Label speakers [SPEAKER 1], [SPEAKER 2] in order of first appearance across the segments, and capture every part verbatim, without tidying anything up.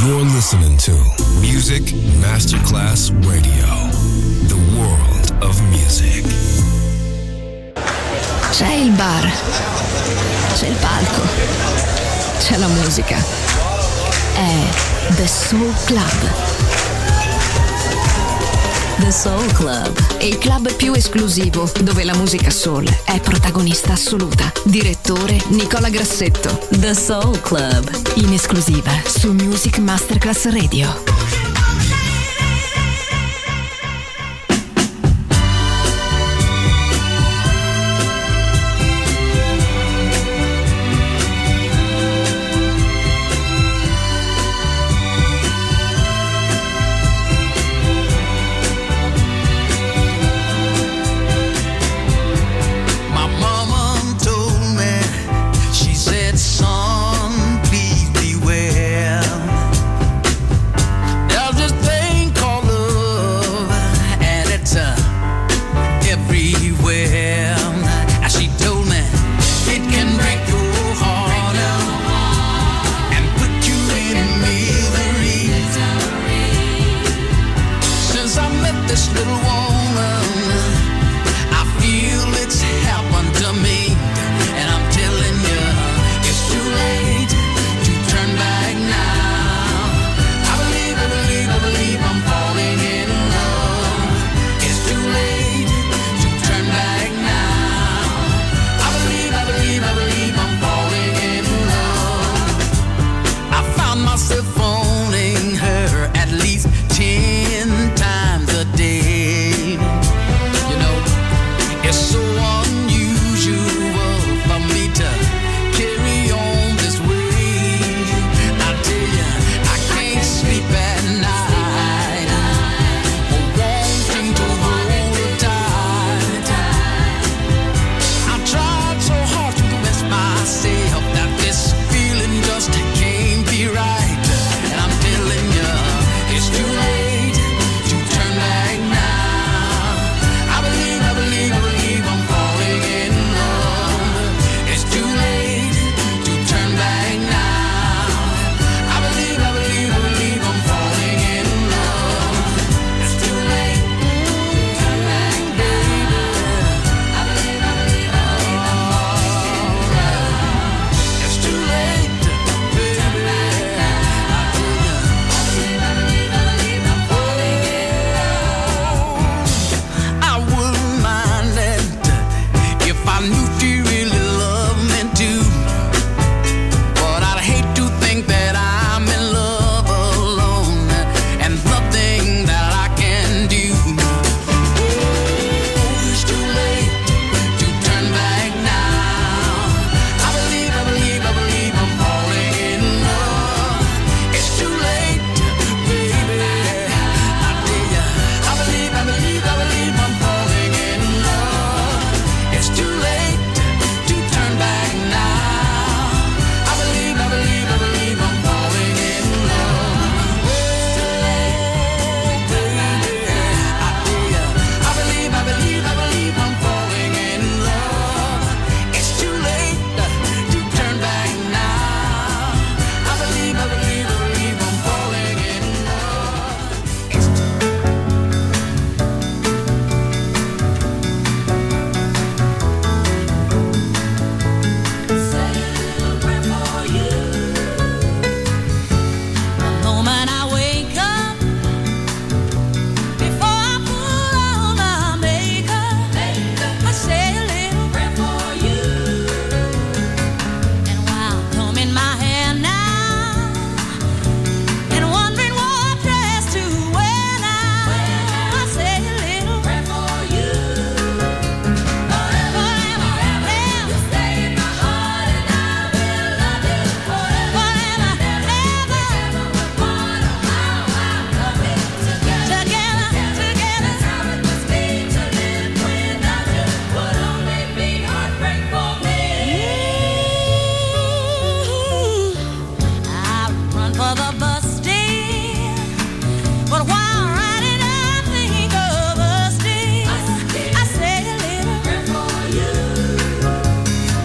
[SPEAKER 1] You're listening to Music Masterclass Radio, the world of music.
[SPEAKER 2] C'è il bar, c'è il palco, c'è la musica. È The Soul Club. The Soul Club, il club più esclusivo dove la musica soul è protagonista assoluta. Direttore Nicola Grassetto. The Soul Club, in esclusiva su Music Masterclass Radio.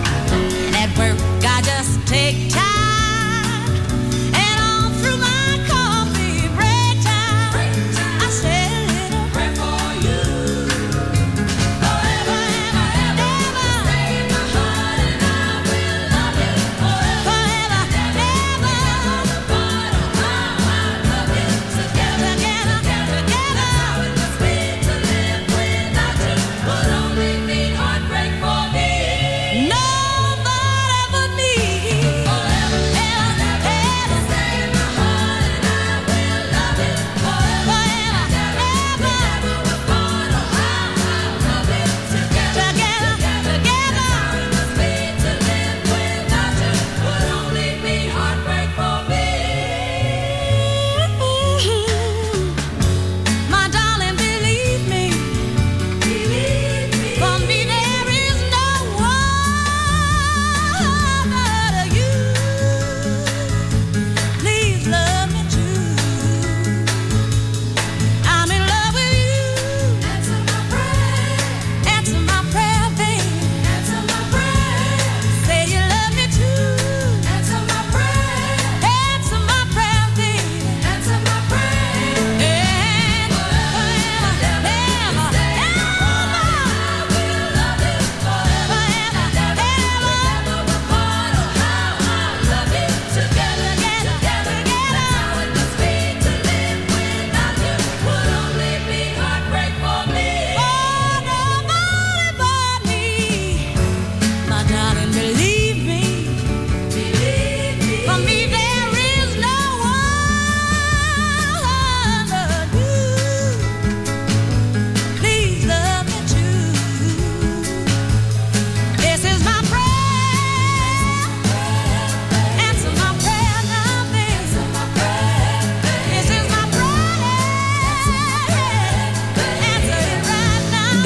[SPEAKER 3] Take time and on through my car.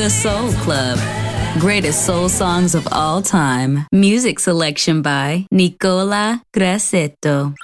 [SPEAKER 2] The Soul Club. Greatest soul songs of all time. Music selection by Nicola Grassetto.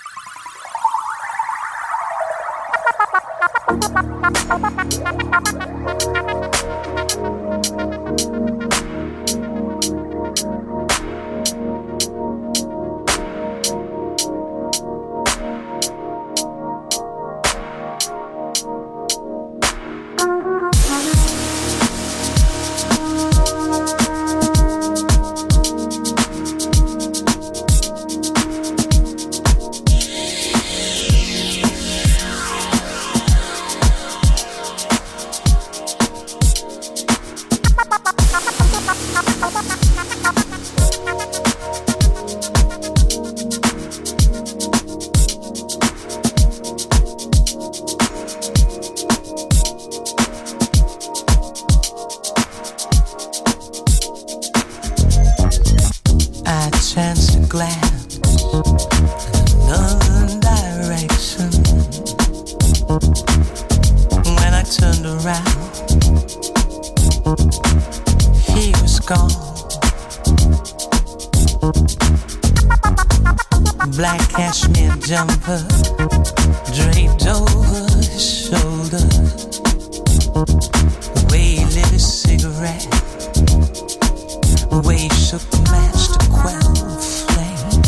[SPEAKER 3] Jumper draped over his shoulder, the way he lit his cigarette, the way he shook the match to quell the flame.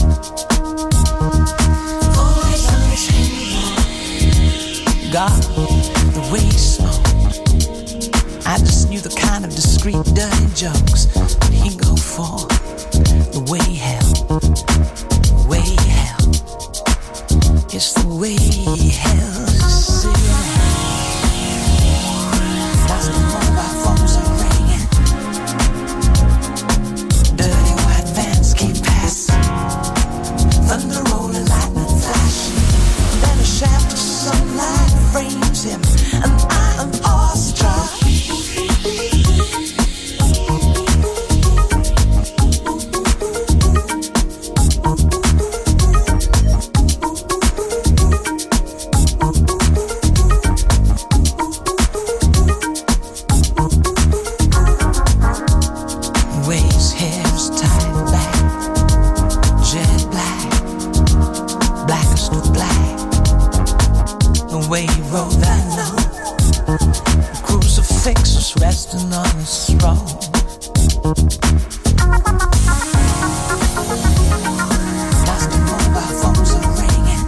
[SPEAKER 3] Always on his hand, God, the way he smoked, I just knew the kind of discreet, dirty jokes that he'd go for, the way he held, the way he held. It's the way he held his cigarette. That's the mobile phones are ringing. Dirty white vans keep passing. Thunder rolling, lightning flashing. Then a shaft of sunlight frames him, and I am awestruck. Resting on his throne. That's the mobile phones are ringing.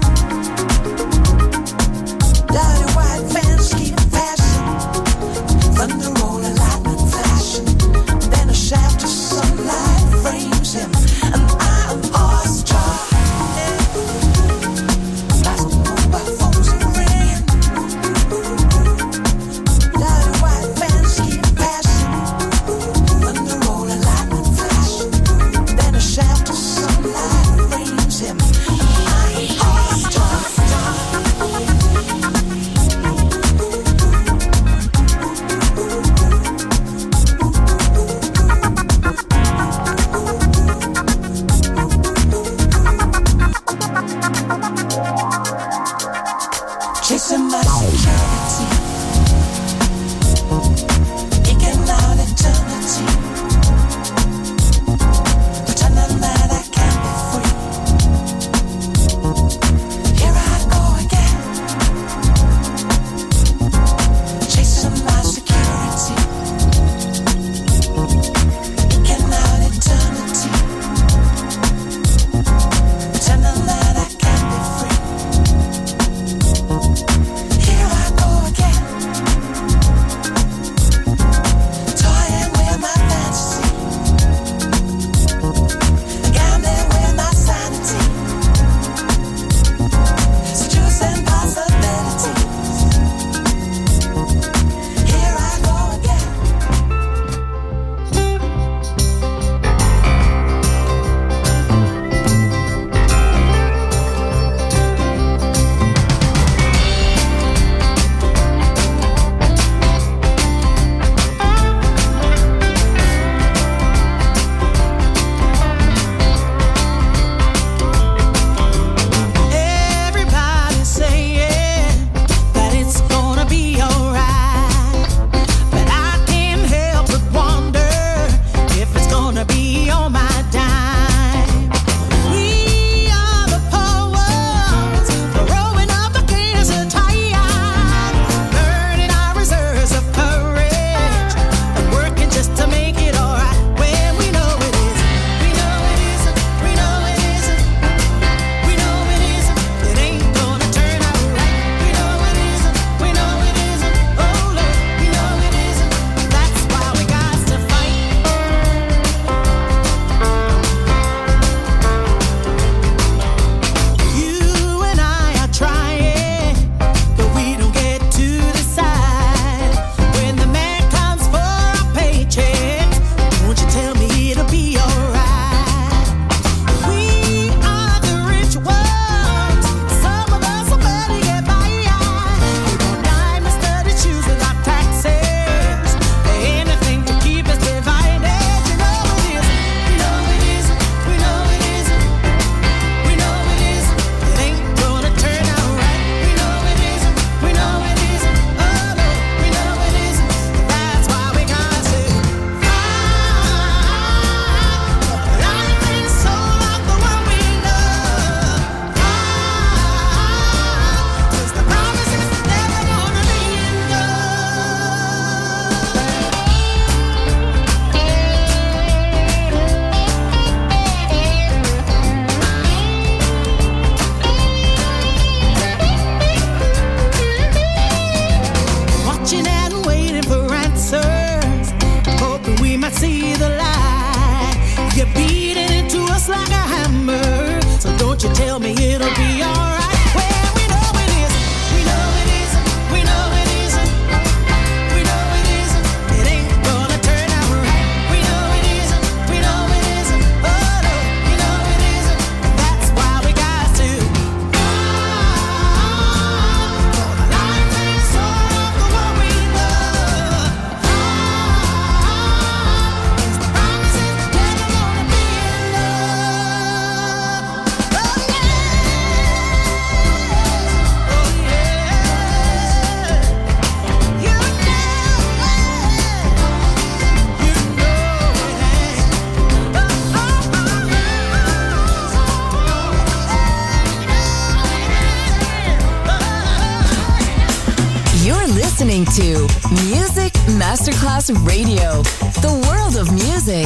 [SPEAKER 3] Dirty white vans keep passing. Thunder rolling, lightning flashing. Then a shaft of sunlight frames him, and I'm awestruck. That's the mobile phones are ringing. Dirty white vans keep passing. Thunder rolling, lightning flashing. Then a shaft of sunlight frames him, and I'm awestruck. Chasing my security, eking out eternity, pretending that I can be free. Here I go again, chasing my security, eking out eternity, pretending that I can be free.
[SPEAKER 2] listening to Music Masterclass Radio, the world of music.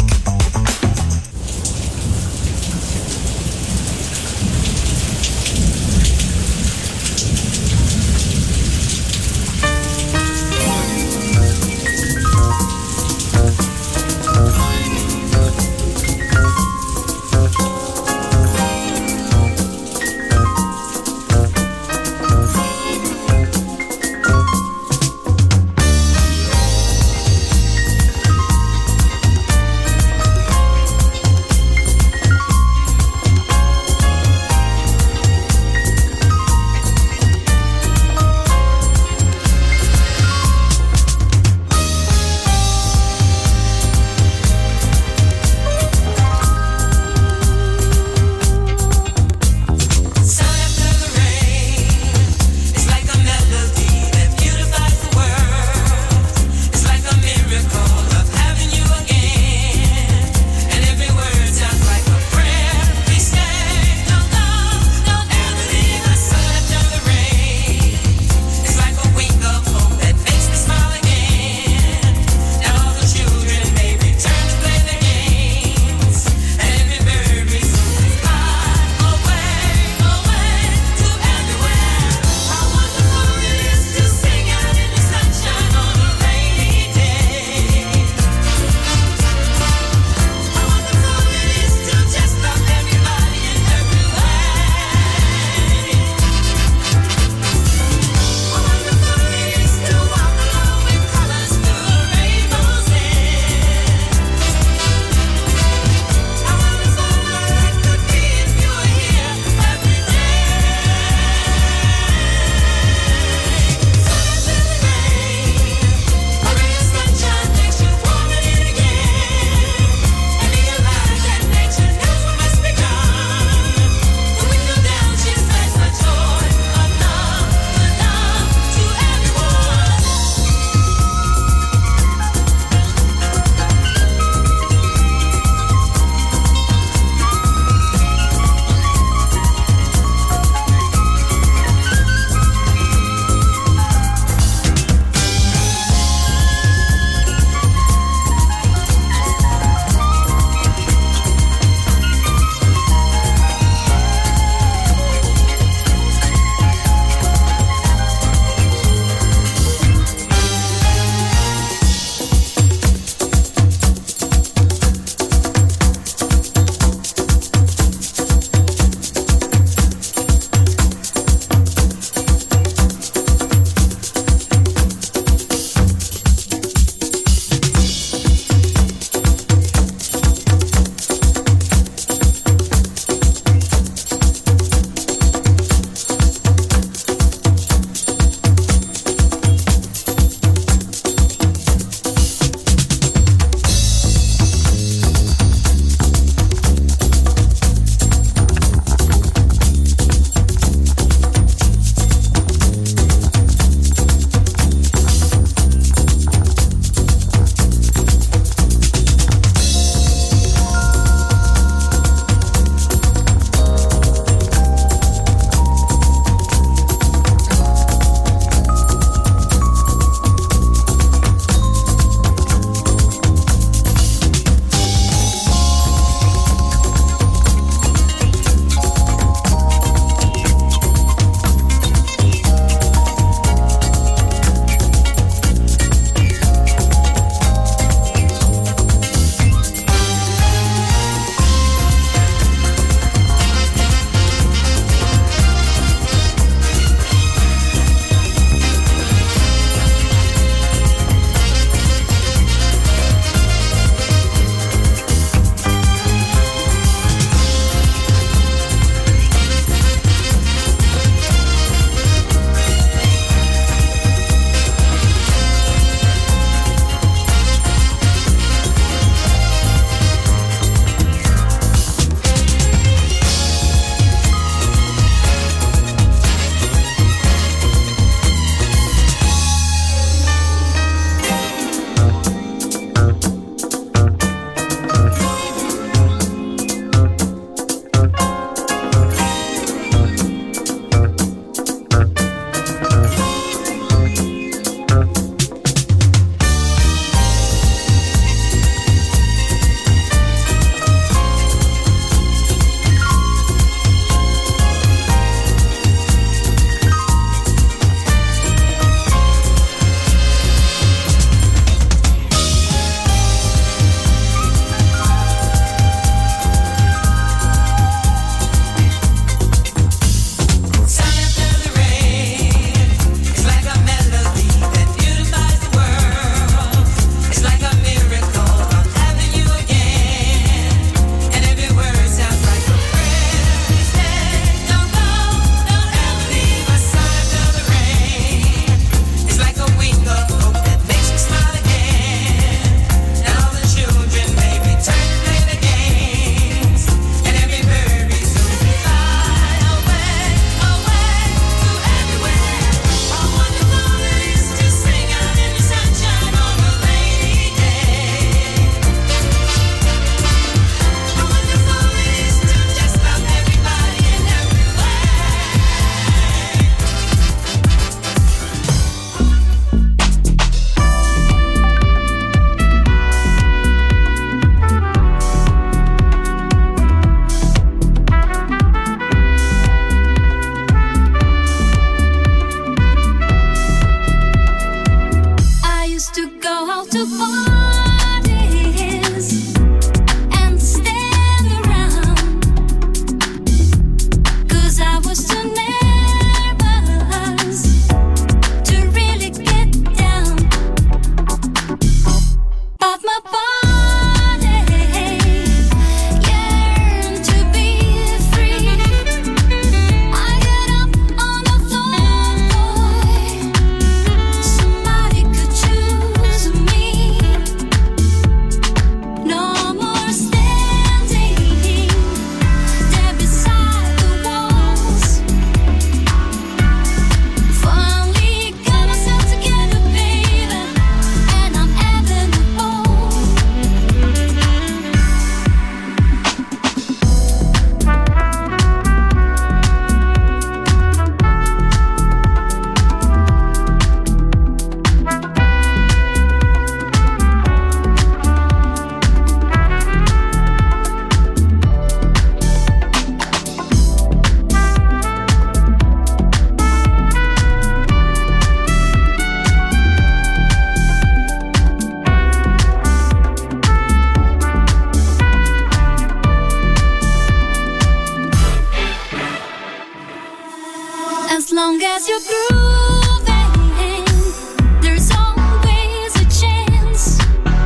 [SPEAKER 4] As long as you're grooving, there's always a chance.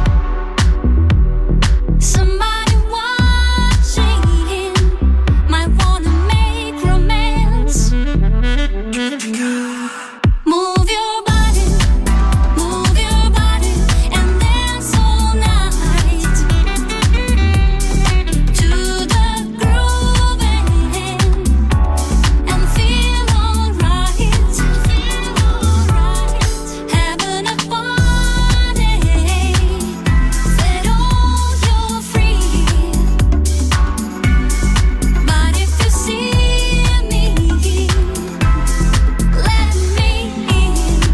[SPEAKER 4] Somebody watching might wanna make romance. Move your body, move your body, and dance all night to the grooving and feel alright, feel alright, having a party that all you're free. But if you see me, let me in.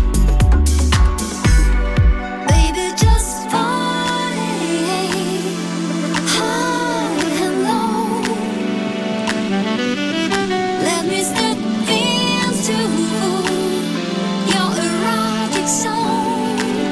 [SPEAKER 4] Baby, just party high and low. Let me step into your erotic zone.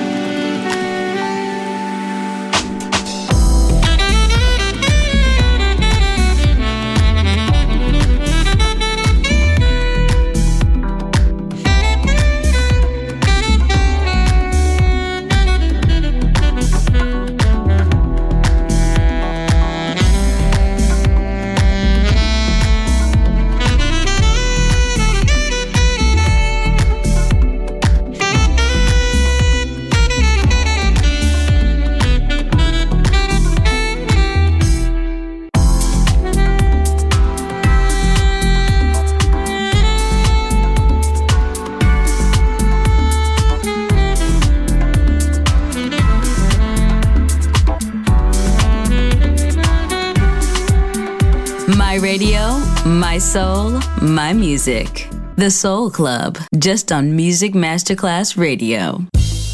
[SPEAKER 2] My radio, my soul, my music. The Soul Club, just on Music Masterclass Radio.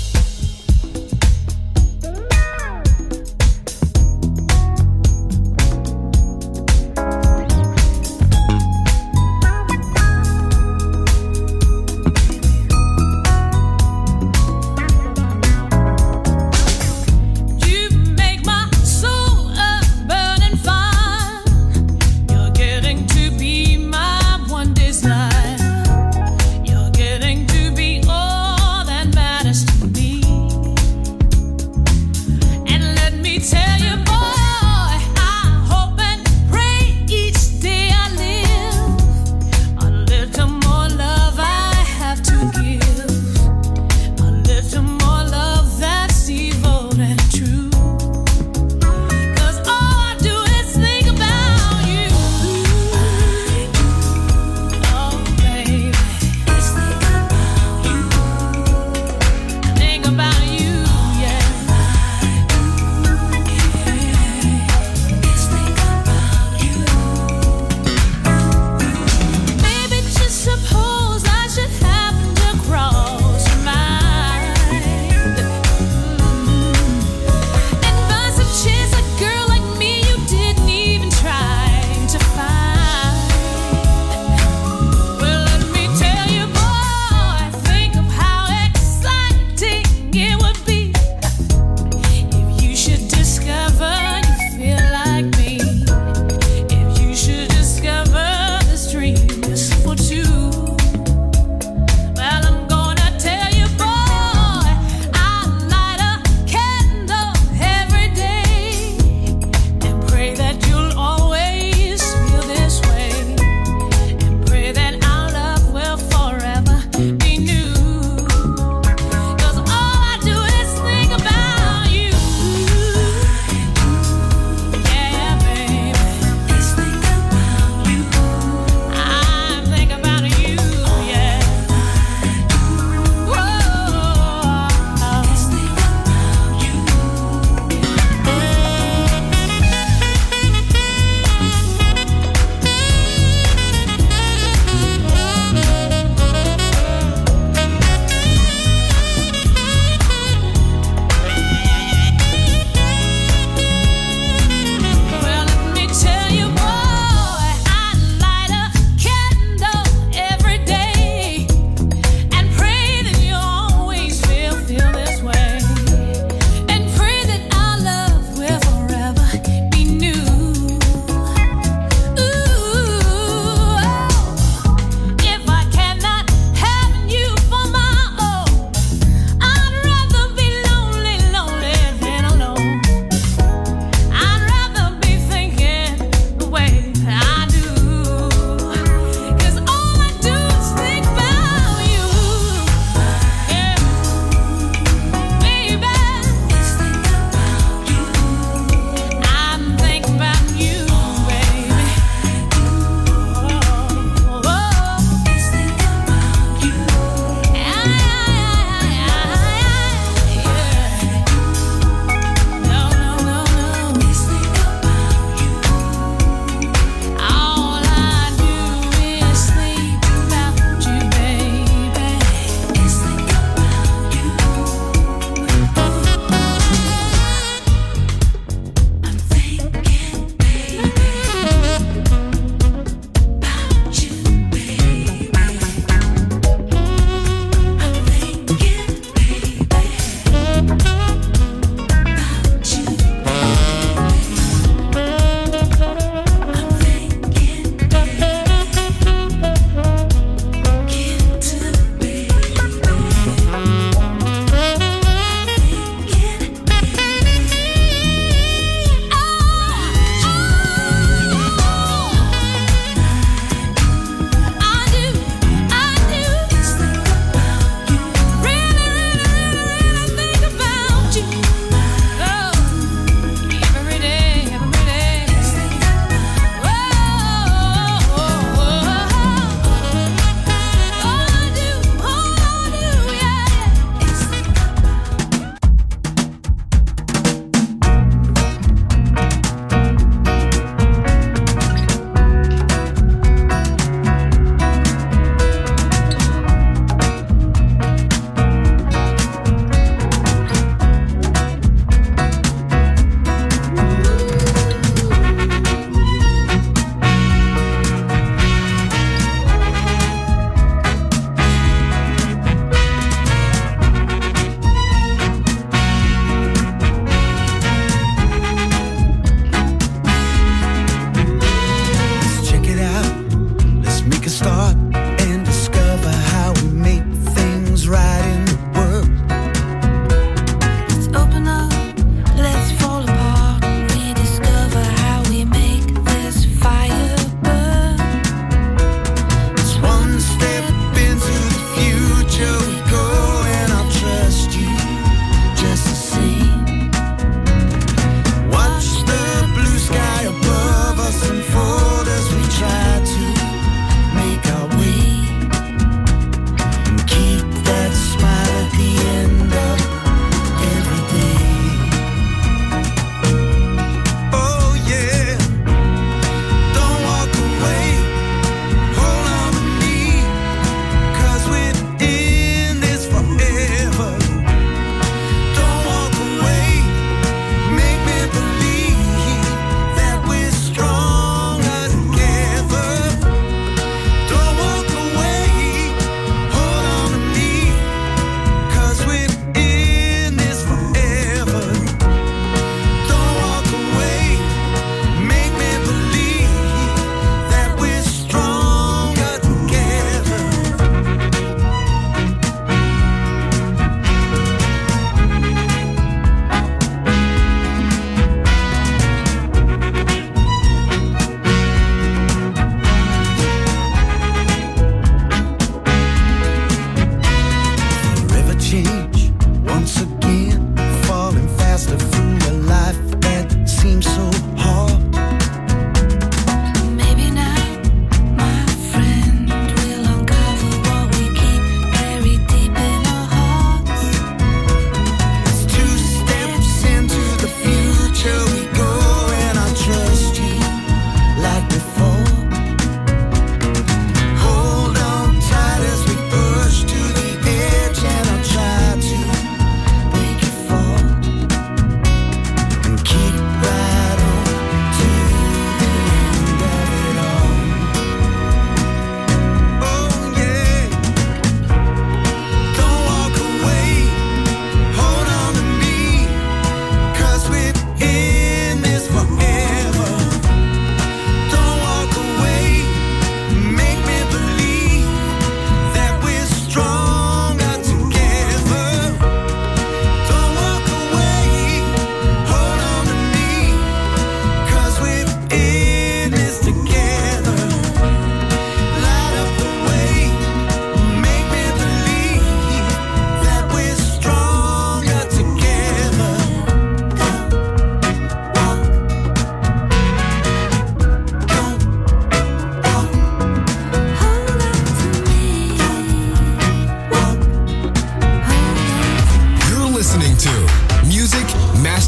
[SPEAKER 4] You make my soul a burning fire. You're getting to be my one desire. You're getting to be all that matters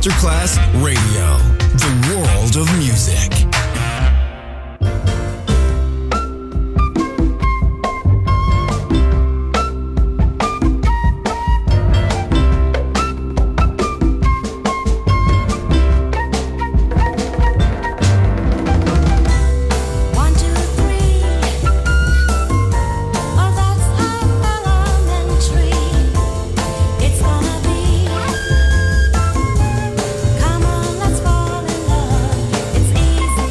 [SPEAKER 1] Masterclass Radio, the world of music.
[SPEAKER 5] Come on, let's fall in love. It's easy.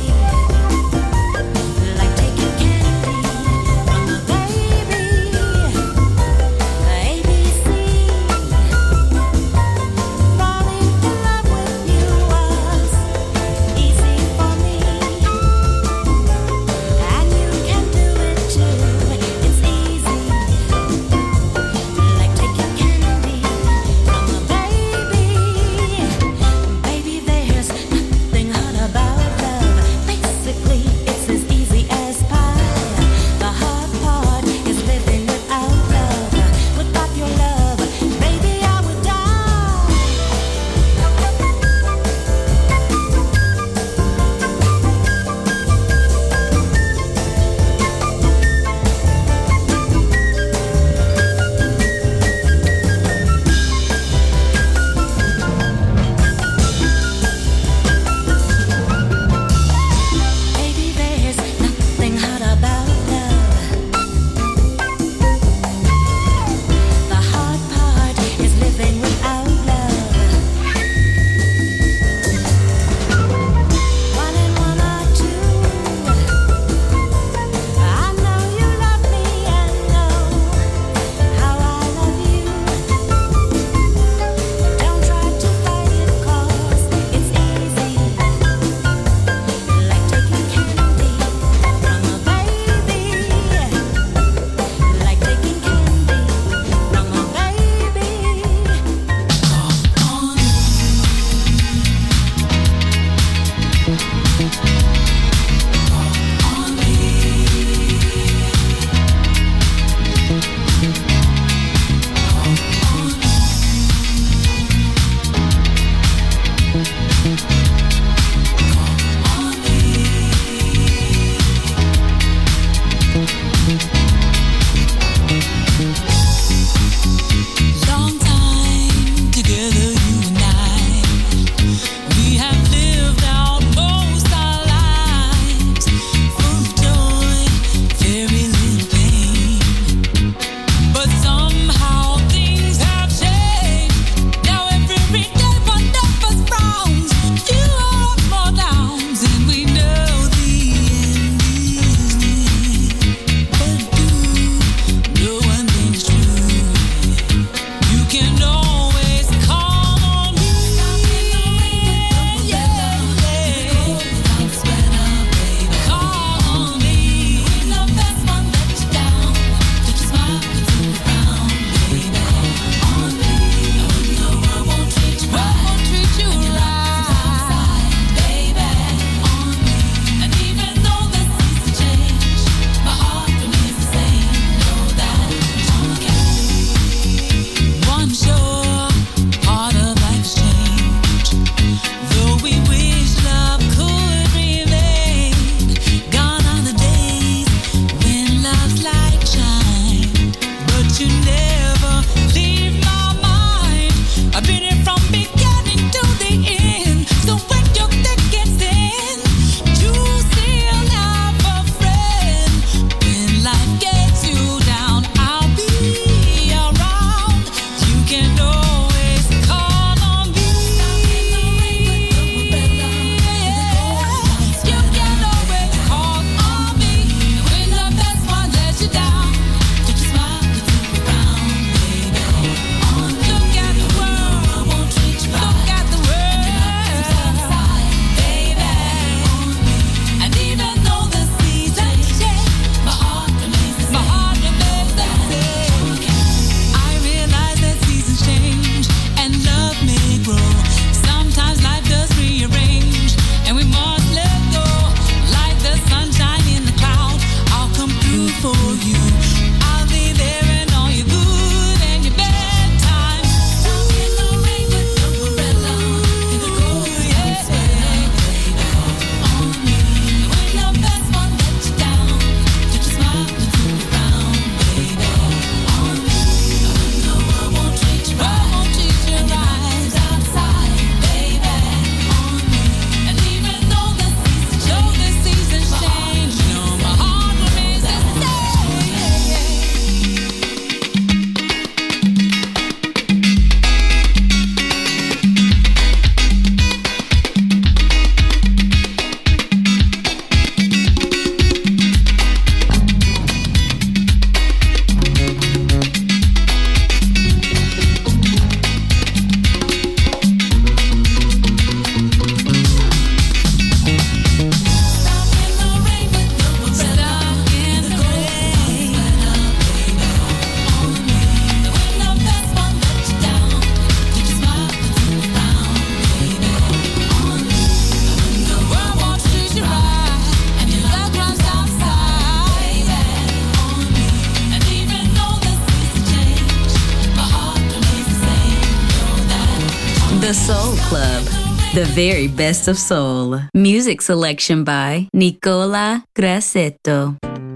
[SPEAKER 2] The Soul Club, the very best of soul. Music selection by Nicola Grassetto.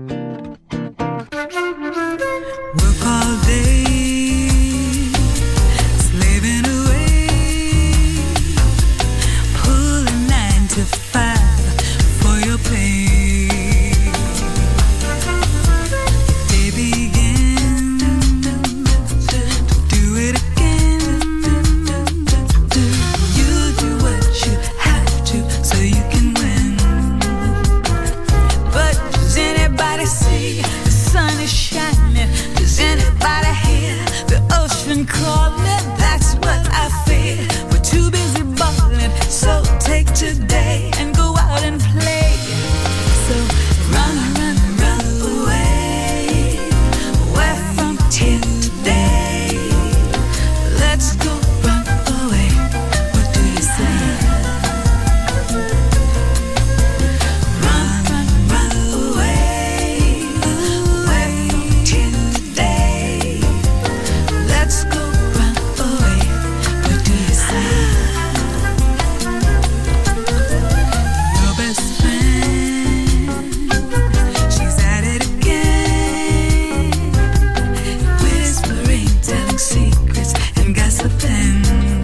[SPEAKER 3] Work all day, slaving away, pulling nine to five for your pay. They begin to do it again. You do what you have to so you can win. But does anybody see the sun is shining? Does anybody hear the ocean calling? That's what I feel. We're too busy balling, so take today and go out and play. So run, run, run away, away from here today. Let's go run away. What do you say? Run, run, run away, away from here today. Let's go run away. What do you say? Your best friend, she's at it again, whispering, telling secrets and gossiping.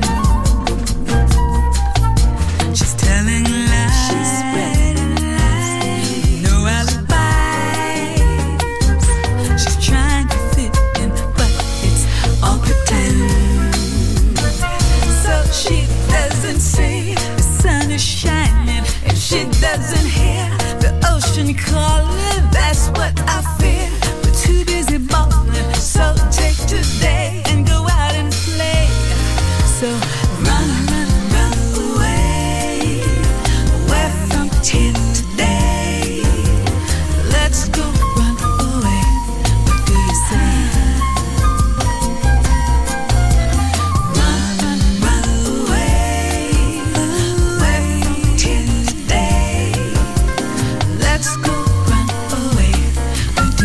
[SPEAKER 3] She's telling lies, she's spreading lies, no alibis. She's trying to fit in, but it's all pretend. So she doesn't see the sun is shining, and she doesn't hear the ocean calling. That's what I fear. We're too busy balling, so take today and go out and play. So run, run, run away, away from here today. Let's go run away. What do you say? Run, run, run away, away from here today. Let's go run away. What do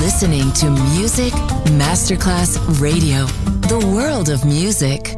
[SPEAKER 2] listening to Music Masterclass Radio, the world of music.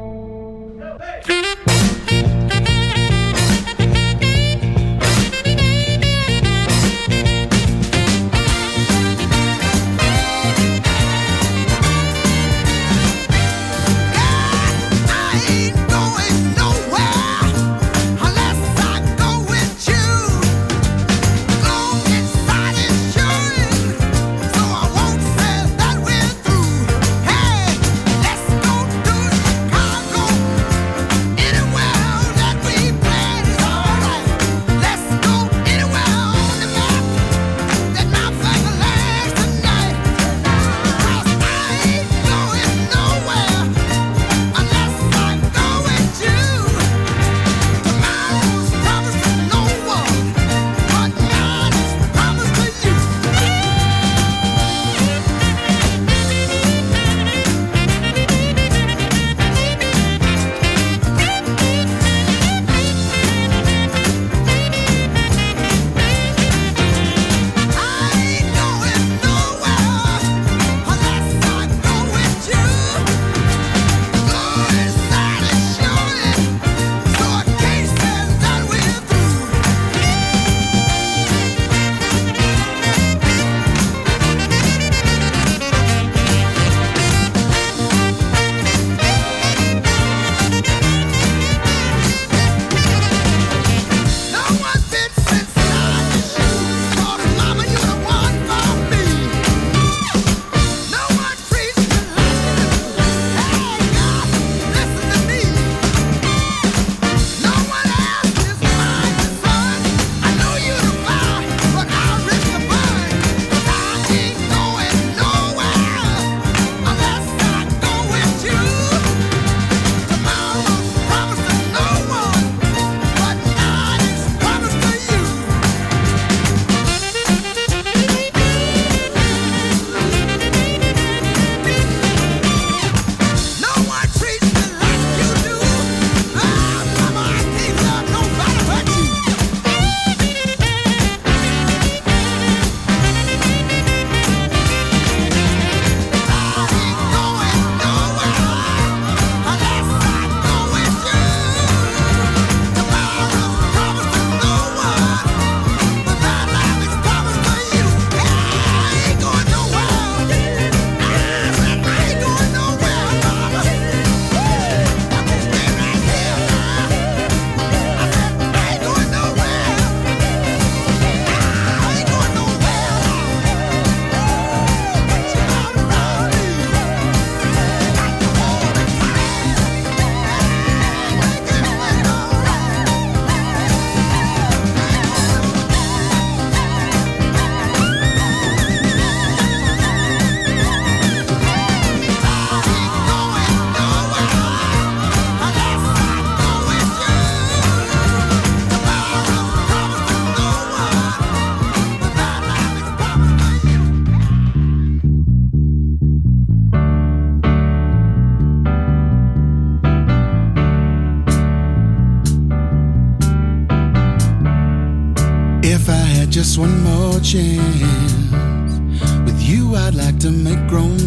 [SPEAKER 5] Just one more chance. With you I'd like to make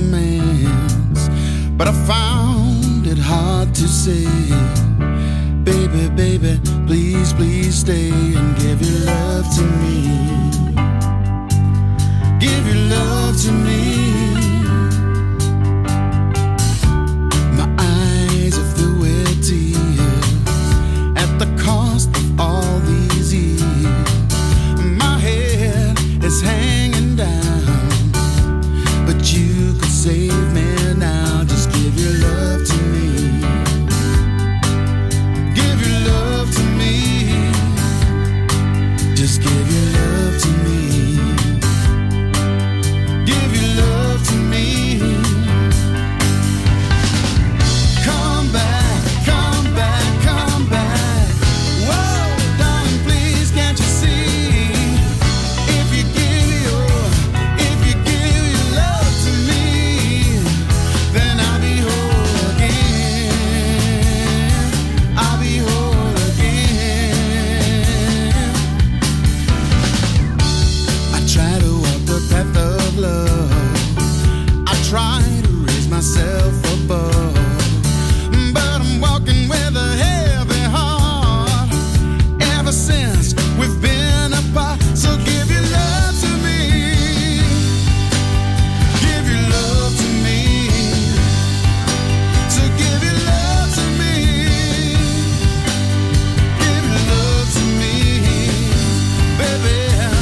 [SPEAKER 5] romance, but I found it hard to say. Baby, baby, please, please stay and give your love to me. Give your love to me. My eyes are filled with tears at the cost of all these years. Is hanging down, but you could save me now. Just give your love to me. Give your love to me. Just give your love to me. Give your love. try to raise myself above, but I'm walking with a heavy heart ever since we've been apart. So give your love to me, give your love to me, so give your love to me, give your love to me, baby.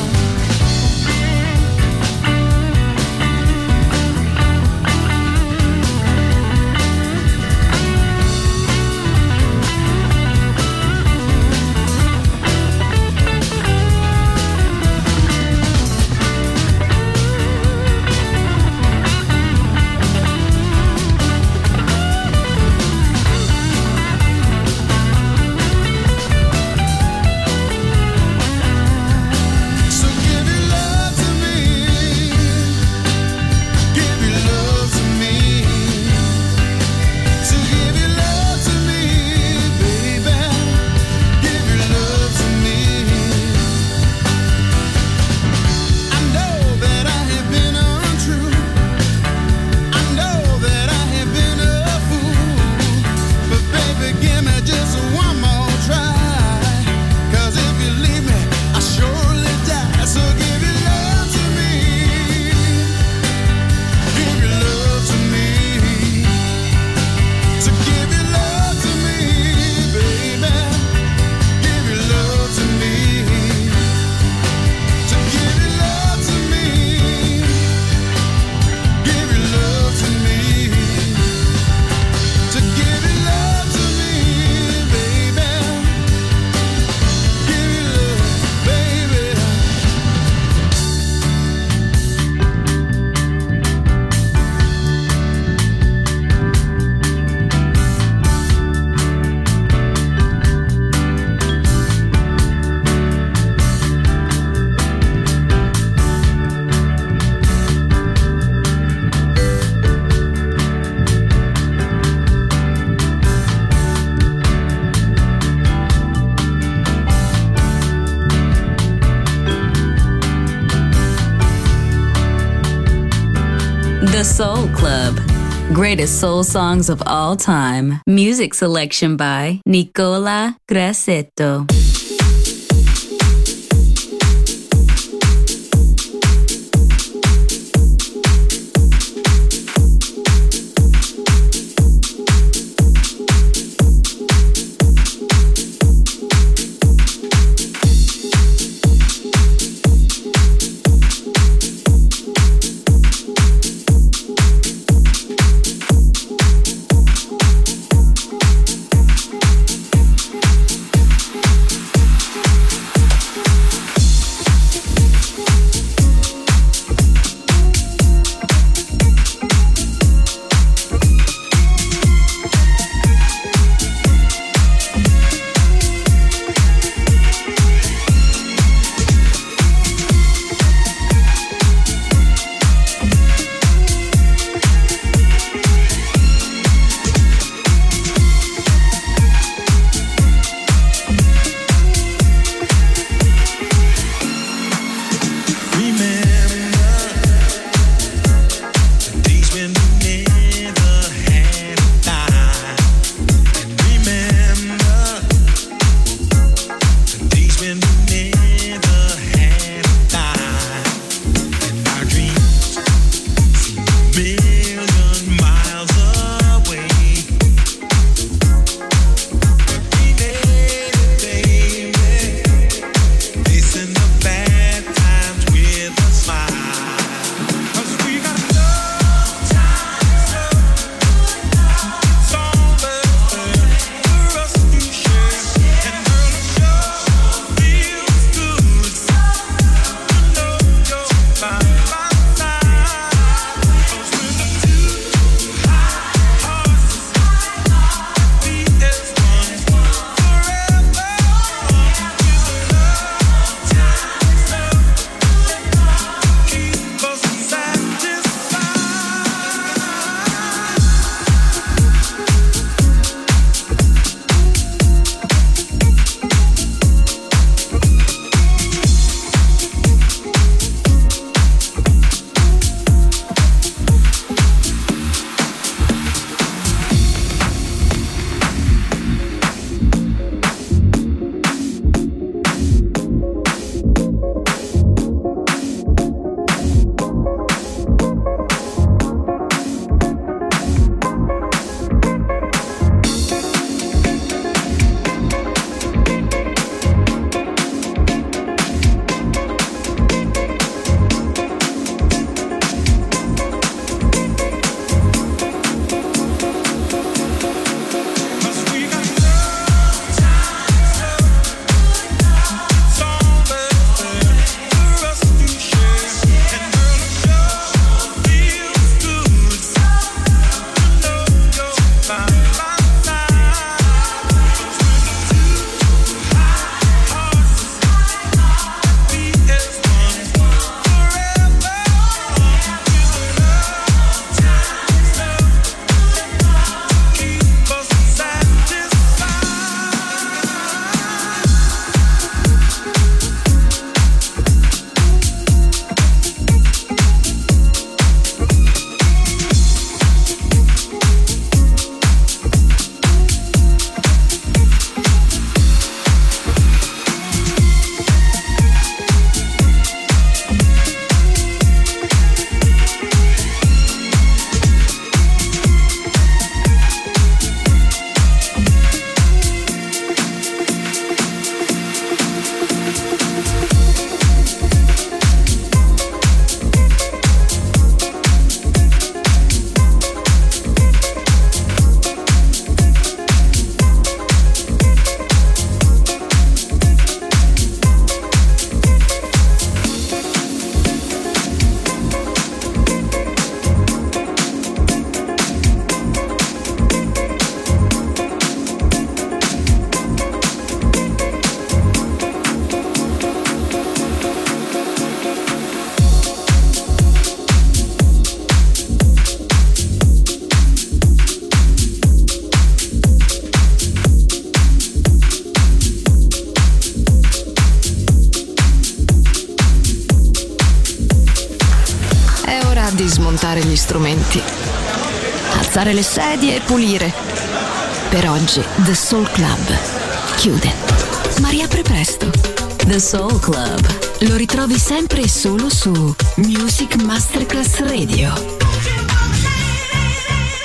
[SPEAKER 6] The Soul Club. Greatest soul songs of all time. Music selection by Nicola Grassetto.
[SPEAKER 2] strumenti, alzare le sedie e pulire. Per oggi The Soul Club chiude, ma riapre presto.
[SPEAKER 6] The Soul Club
[SPEAKER 2] lo ritrovi sempre e solo su Music Masterclass Radio.